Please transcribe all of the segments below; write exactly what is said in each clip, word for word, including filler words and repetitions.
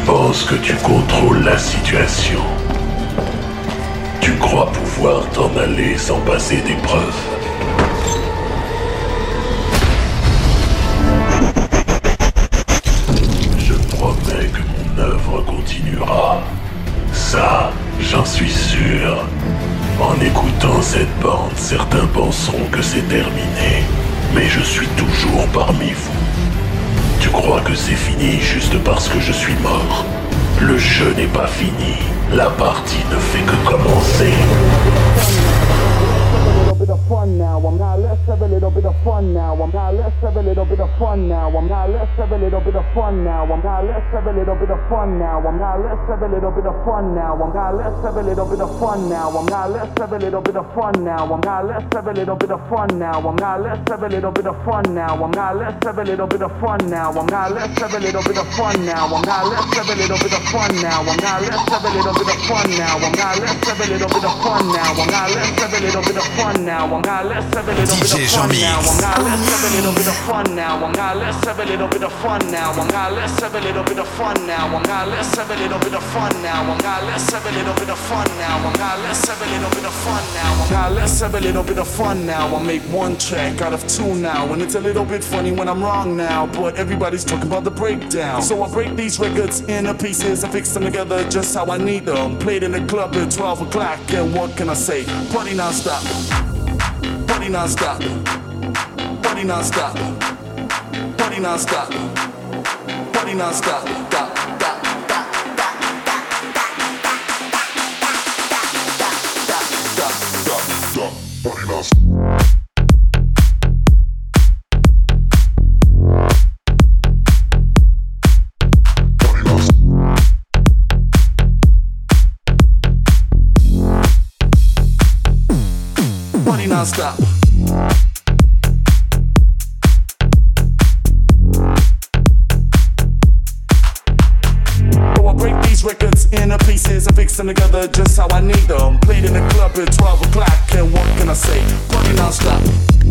penses que tu contrôles la situation. Tu crois pouvoir t'en aller sans passer d'épreuve. Je promets que mon œuvre continuera. Ça, j'en suis sûr. En écoutant cette bande, certains penseront que c'est terminé. Mais je suis toujours parmi vous. Tu crois que c'est fini juste parce que je suis mort? Le jeu n'est pas fini. La partie ne fait que commencer. Bit of fun now. I'm not. Let's have a little bit of fun now. I'm not. Let's have a little bit of fun now. I'm not. Let's have a little bit of fun now. I'm not. Let's have a little bit of fun now. I'm not. Let's have a little bit of fun now. I'm not. Let's have a little bit of fun now. I'm not. Let's have a little bit of fun now. I'm not. Let's have a little bit of fun now. I'm not. Let's have a little bit of fun now. I'm not. Let's have a little bit of fun now. I'm not. Let's have a little bit of fun now. I'm not. Let's have a little bit of fun now. I'm not. Let's have a little bit of fun now. I'm not. Let's have a little bit of fun now. I'm not. Let's have a little bit of fun now. I'm not. Let's have a little bit of fun now. I'm not. Let's have a little bit of fun now. I'm not. Let's have a little bit of fun now. I'm not. Let's have a little bit of fun now. I'm not. Let's have a little bit of fun now. I'm not. Let's have a little bit of fun now. I'm not. Let's have a little bit of fun now. I'm not. Let's have a little bit of fun now. I'll make one track out of two now, and it's a little bit funny when I'm wrong now, but everybody's talking about the breakdown. So I break these records into pieces and fix them together just how I need them. Played in the club at twelve o'clock, and what can I say? Party non-stop. Party non-stop, party non-stop, party non-stop, party non-stop, stop, stop, stop, stop, stop, stop, party non-stop. Party non-stop. So I break these records into pieces and fix them together just how I need them. Played in the club at twelve o'clock, and what can I say? Party non-stop.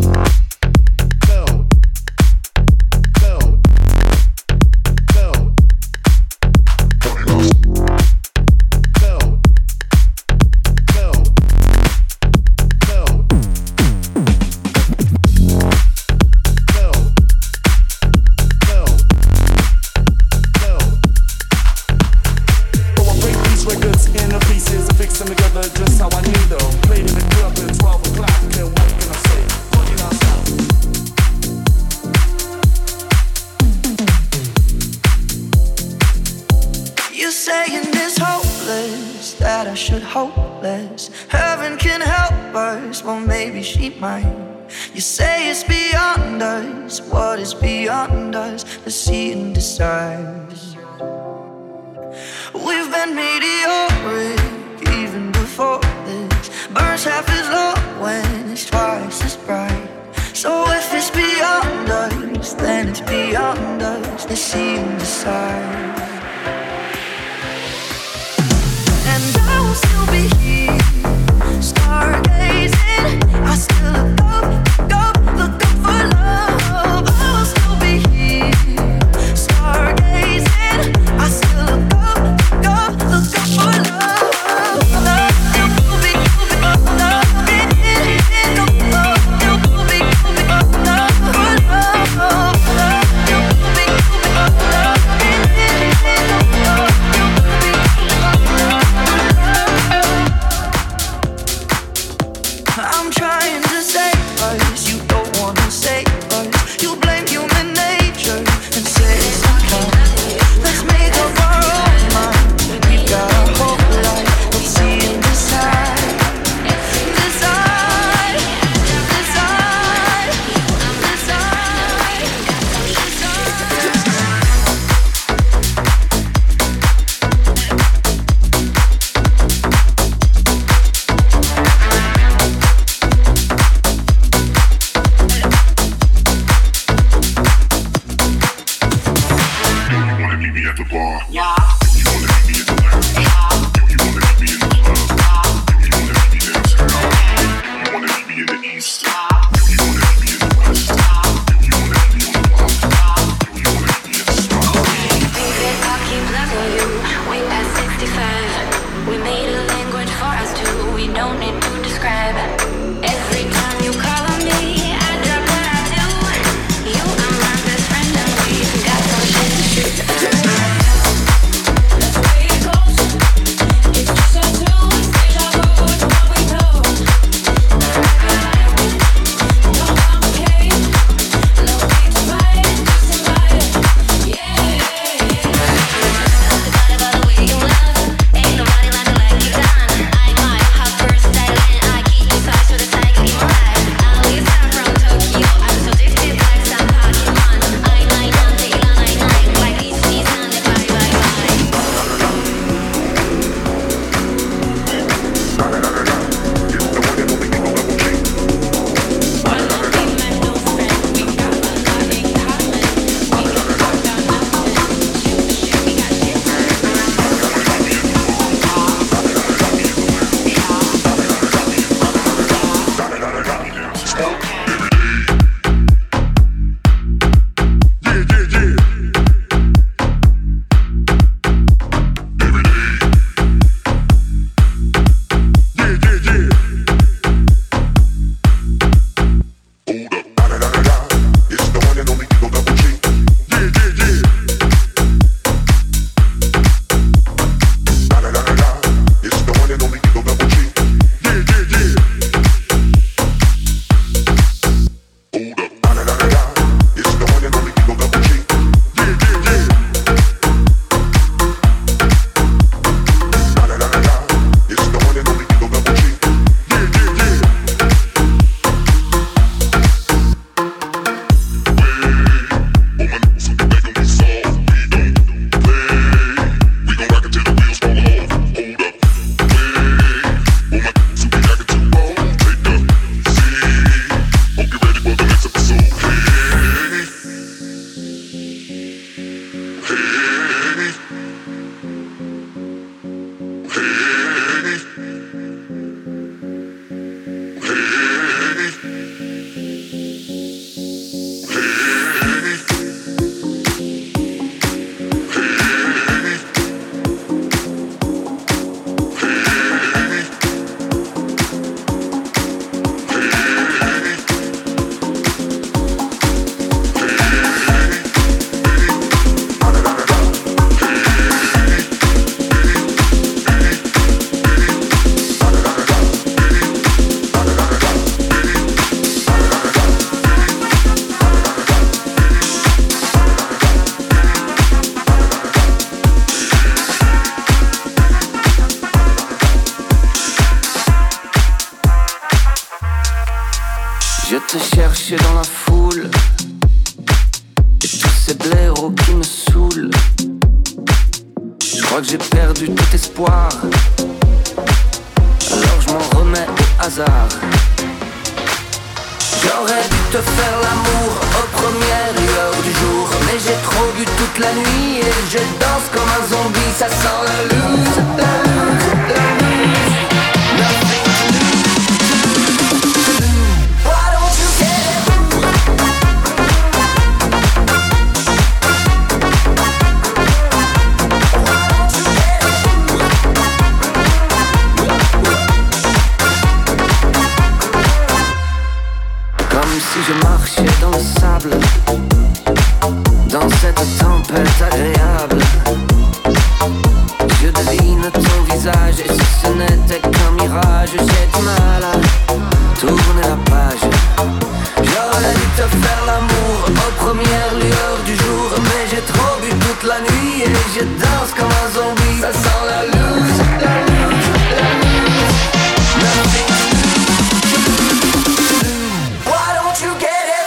You say it's beyond us. What is beyond us? Let's see and decide. We've been meteoric even before this. Burns half as low when it's twice as bright. So if it's beyond us, then it's beyond us. Let's see and decide. And I will still be here, stargazing. I still look up, go, look up for love. I will still be here, stargazing. I still look up, go, look up for love. Love, you'll be, you'll be, love, love, you'll be, love for love. Love, you'll be, you'll be, love for love. I'm trying to save us, you don't wanna save us. You blame human nature and say it's okay. Let's make up our own mind. We got our whole life. Let's see and decide. Decide, decide, decide, Je te cherchais dans la foule et tous ces blaireaux qui me saoulent. Je crois que j'ai perdu tout espoir, alors je m'en remets au hasard. J'aurais dû te faire l'amour aux premières lueurs du jour, mais j'ai trop bu toute la nuit et je danse comme un zombie. Ça sent la loose, la loose, la loose. Nothing to lose. Why don't you get it? Why don't you get it? Comme si je marchais dans le sable, dans cette tempête agréable. Je devine ton visage et si ce n'était qu'un mirage, j'ai du mal à tourner la page. J'aurais dû te faire l'amour aux premières lueurs du jour, mais j'ai trop bu toute la nuit et je danse comme un zombie. Ça sent la loose, la loose, la loose. Nothing to lose. Why don't you get it?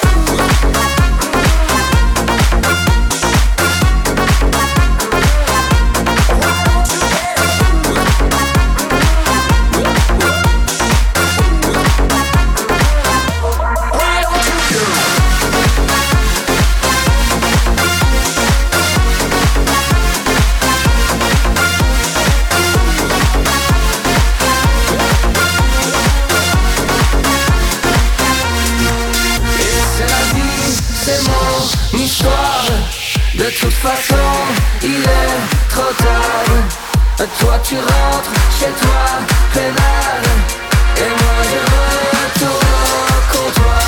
Toi tu rentres chez toi, pénal. Et moi je retourne au comptoir.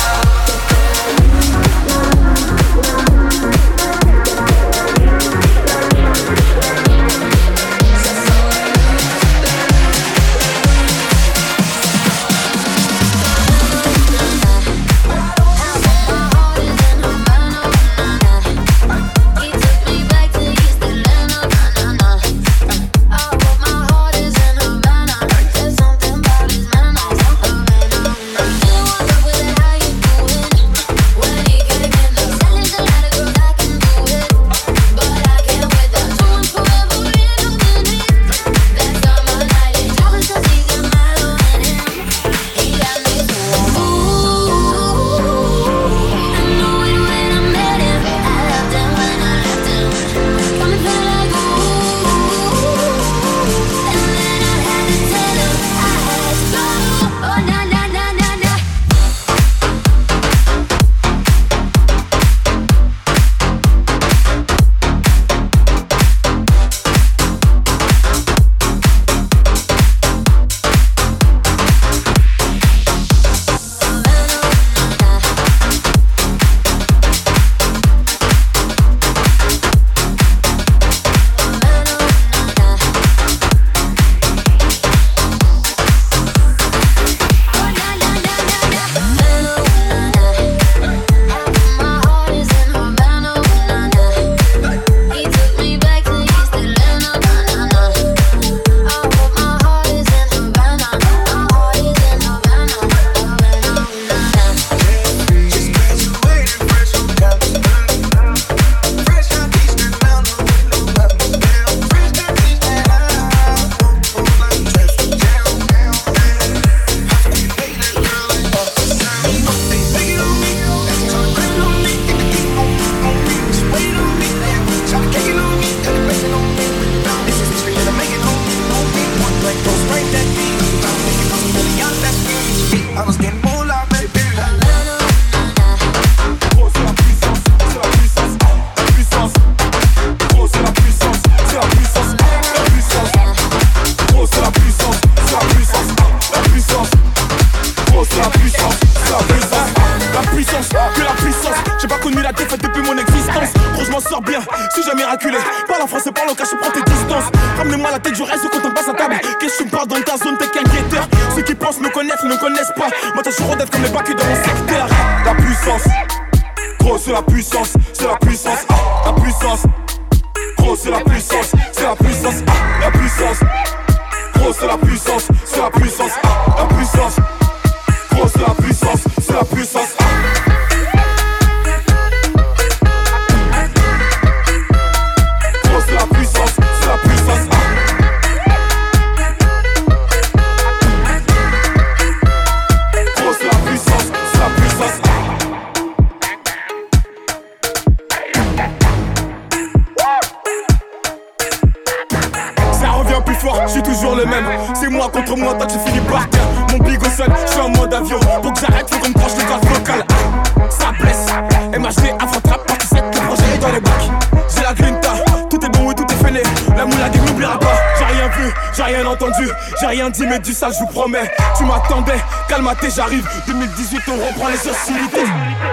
Dit mais du sale je vous promets. Tu m'attendais, calme-toi, j'arrive. deux mille dix-huit on reprend les hostilités.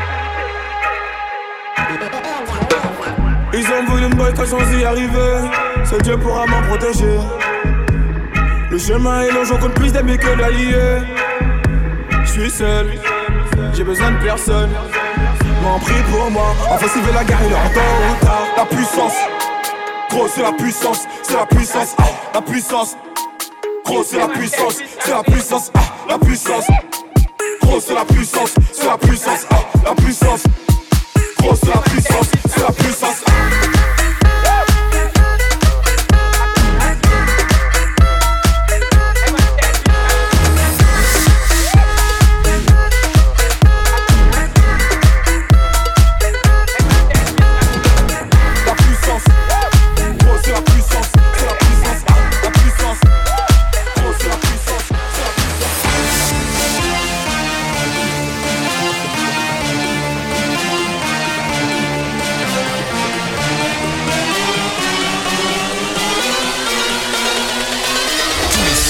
Ils ont voulu me boycotter sans y arriver. Seul Dieu pourra m'en protéger. Le chemin est long, j'en compte plus d'amis que d'alliés. Je suis seul, j'ai besoin de personne. M'en prie pour moi, enfin s'il veut la guerre il est en temps ou tard. La puissance, gros c'est la puissance, c'est la puissance, ah, la puissance. Gros c'est la puissance, c'est la puissance, ah, la puissance. Gros c'est la puissance, c'est la puissance, ah, la puissance. Gros c'est la puissance, c'est la puissance.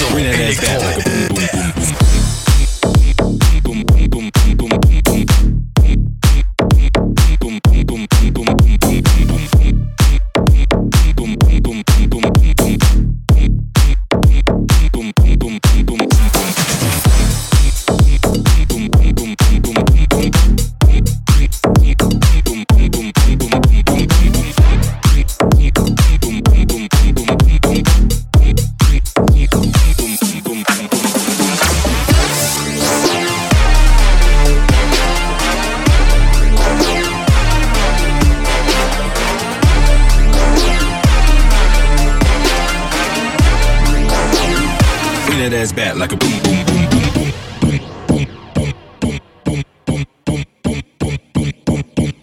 son électro. Ass back like a boom boom boom boom boom boom boom boom boom boom boom boom boom boom boom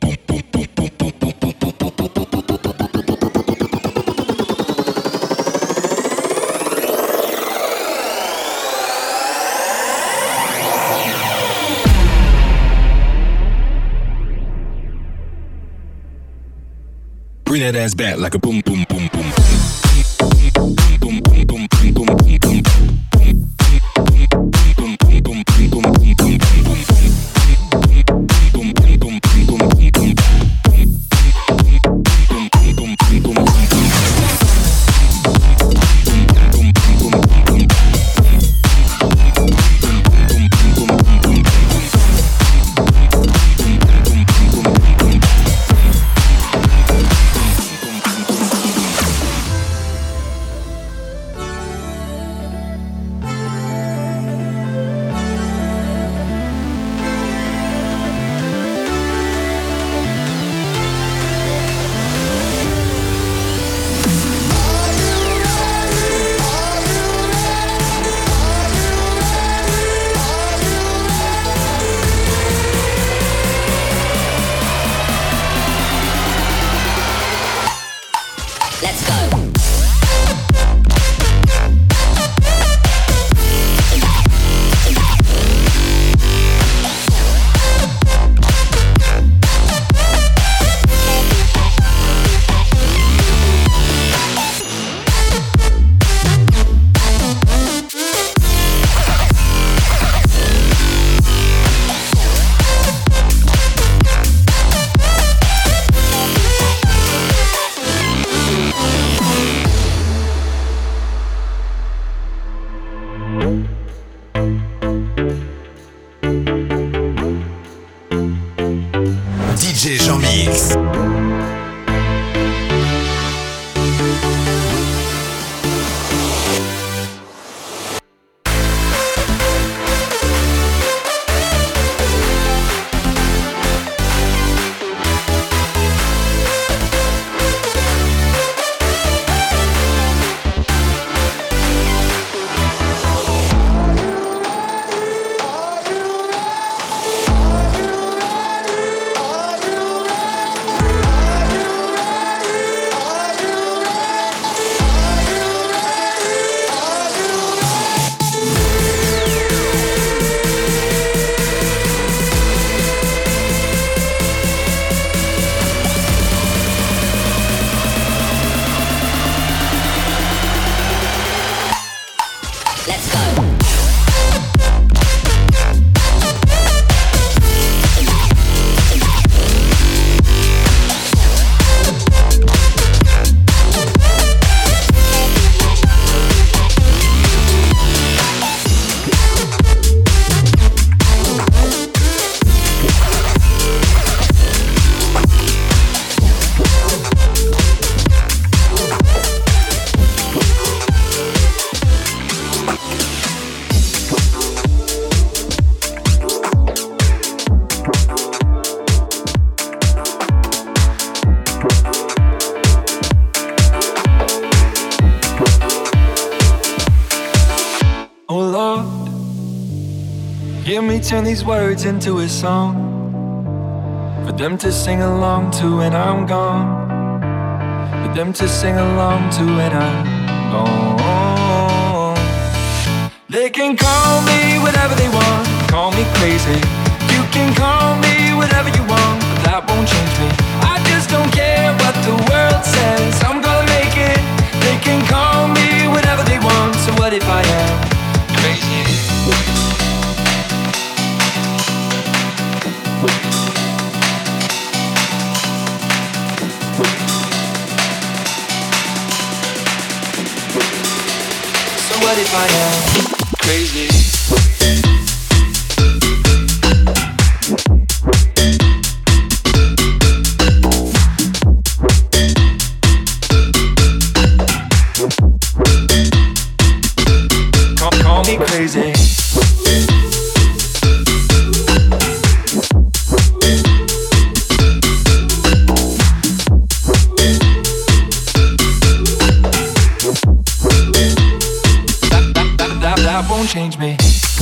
bring that ass back like a boom boom boom boom boom boom boom boom boom boom. Hear me turn these words into a song for them to sing along to when I'm gone. For them to sing along to when I'm gone. They can call me whatever they want, call me crazy. You can call me whatever you want, but that won't change me. I just don't care what the world says, I'm gonna make it. They can call me whatever they want, so what if I am what if I am crazy? Call me crazy. That, that, that, that, that won't change me.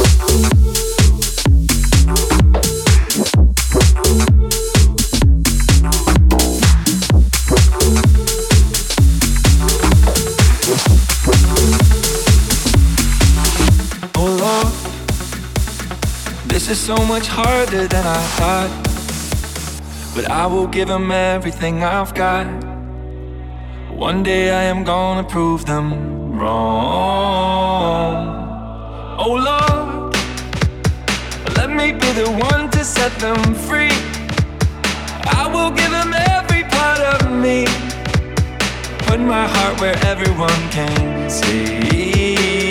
This is so much harder than I thought, but I will give them everything I've got. One day I am gonna prove them wrong. Oh Lord, let me be the one to set them free. I will give them every part of me, put my heart where everyone can see.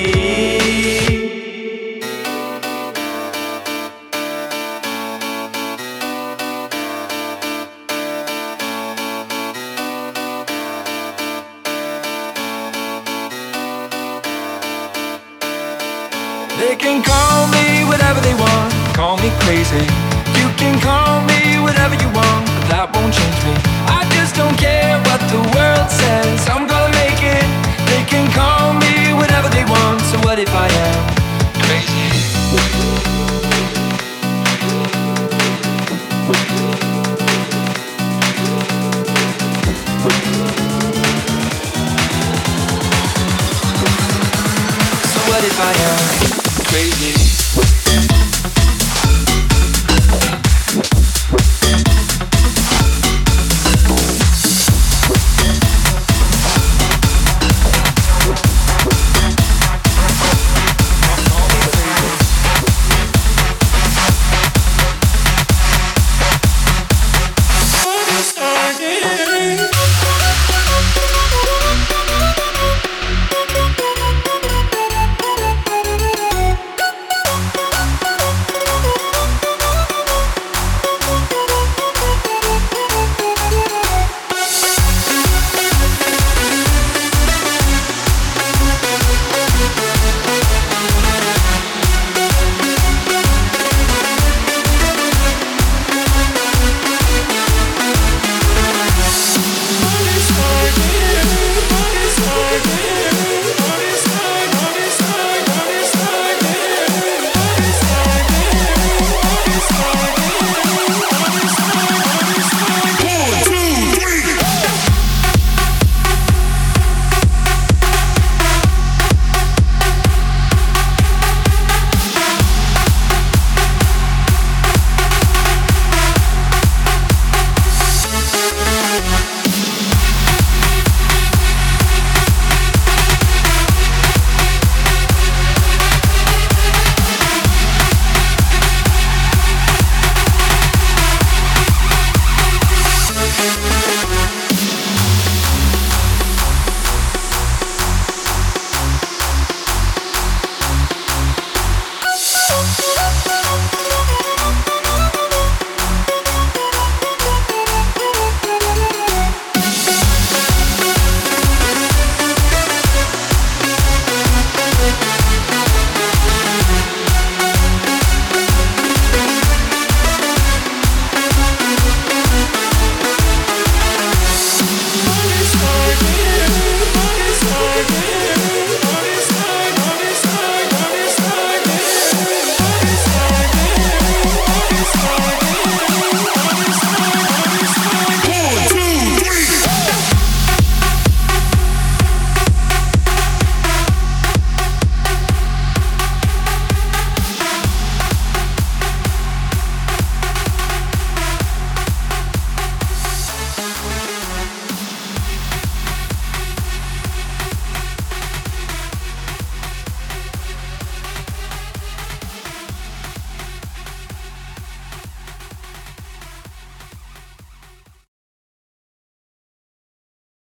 They can call me whatever they want, call me crazy. You can call me whatever you want, but that won't change me. I just don't care what the world says, I'm gonna make it. They can call me whatever they want, so what if I am crazy? So what if I am crazy?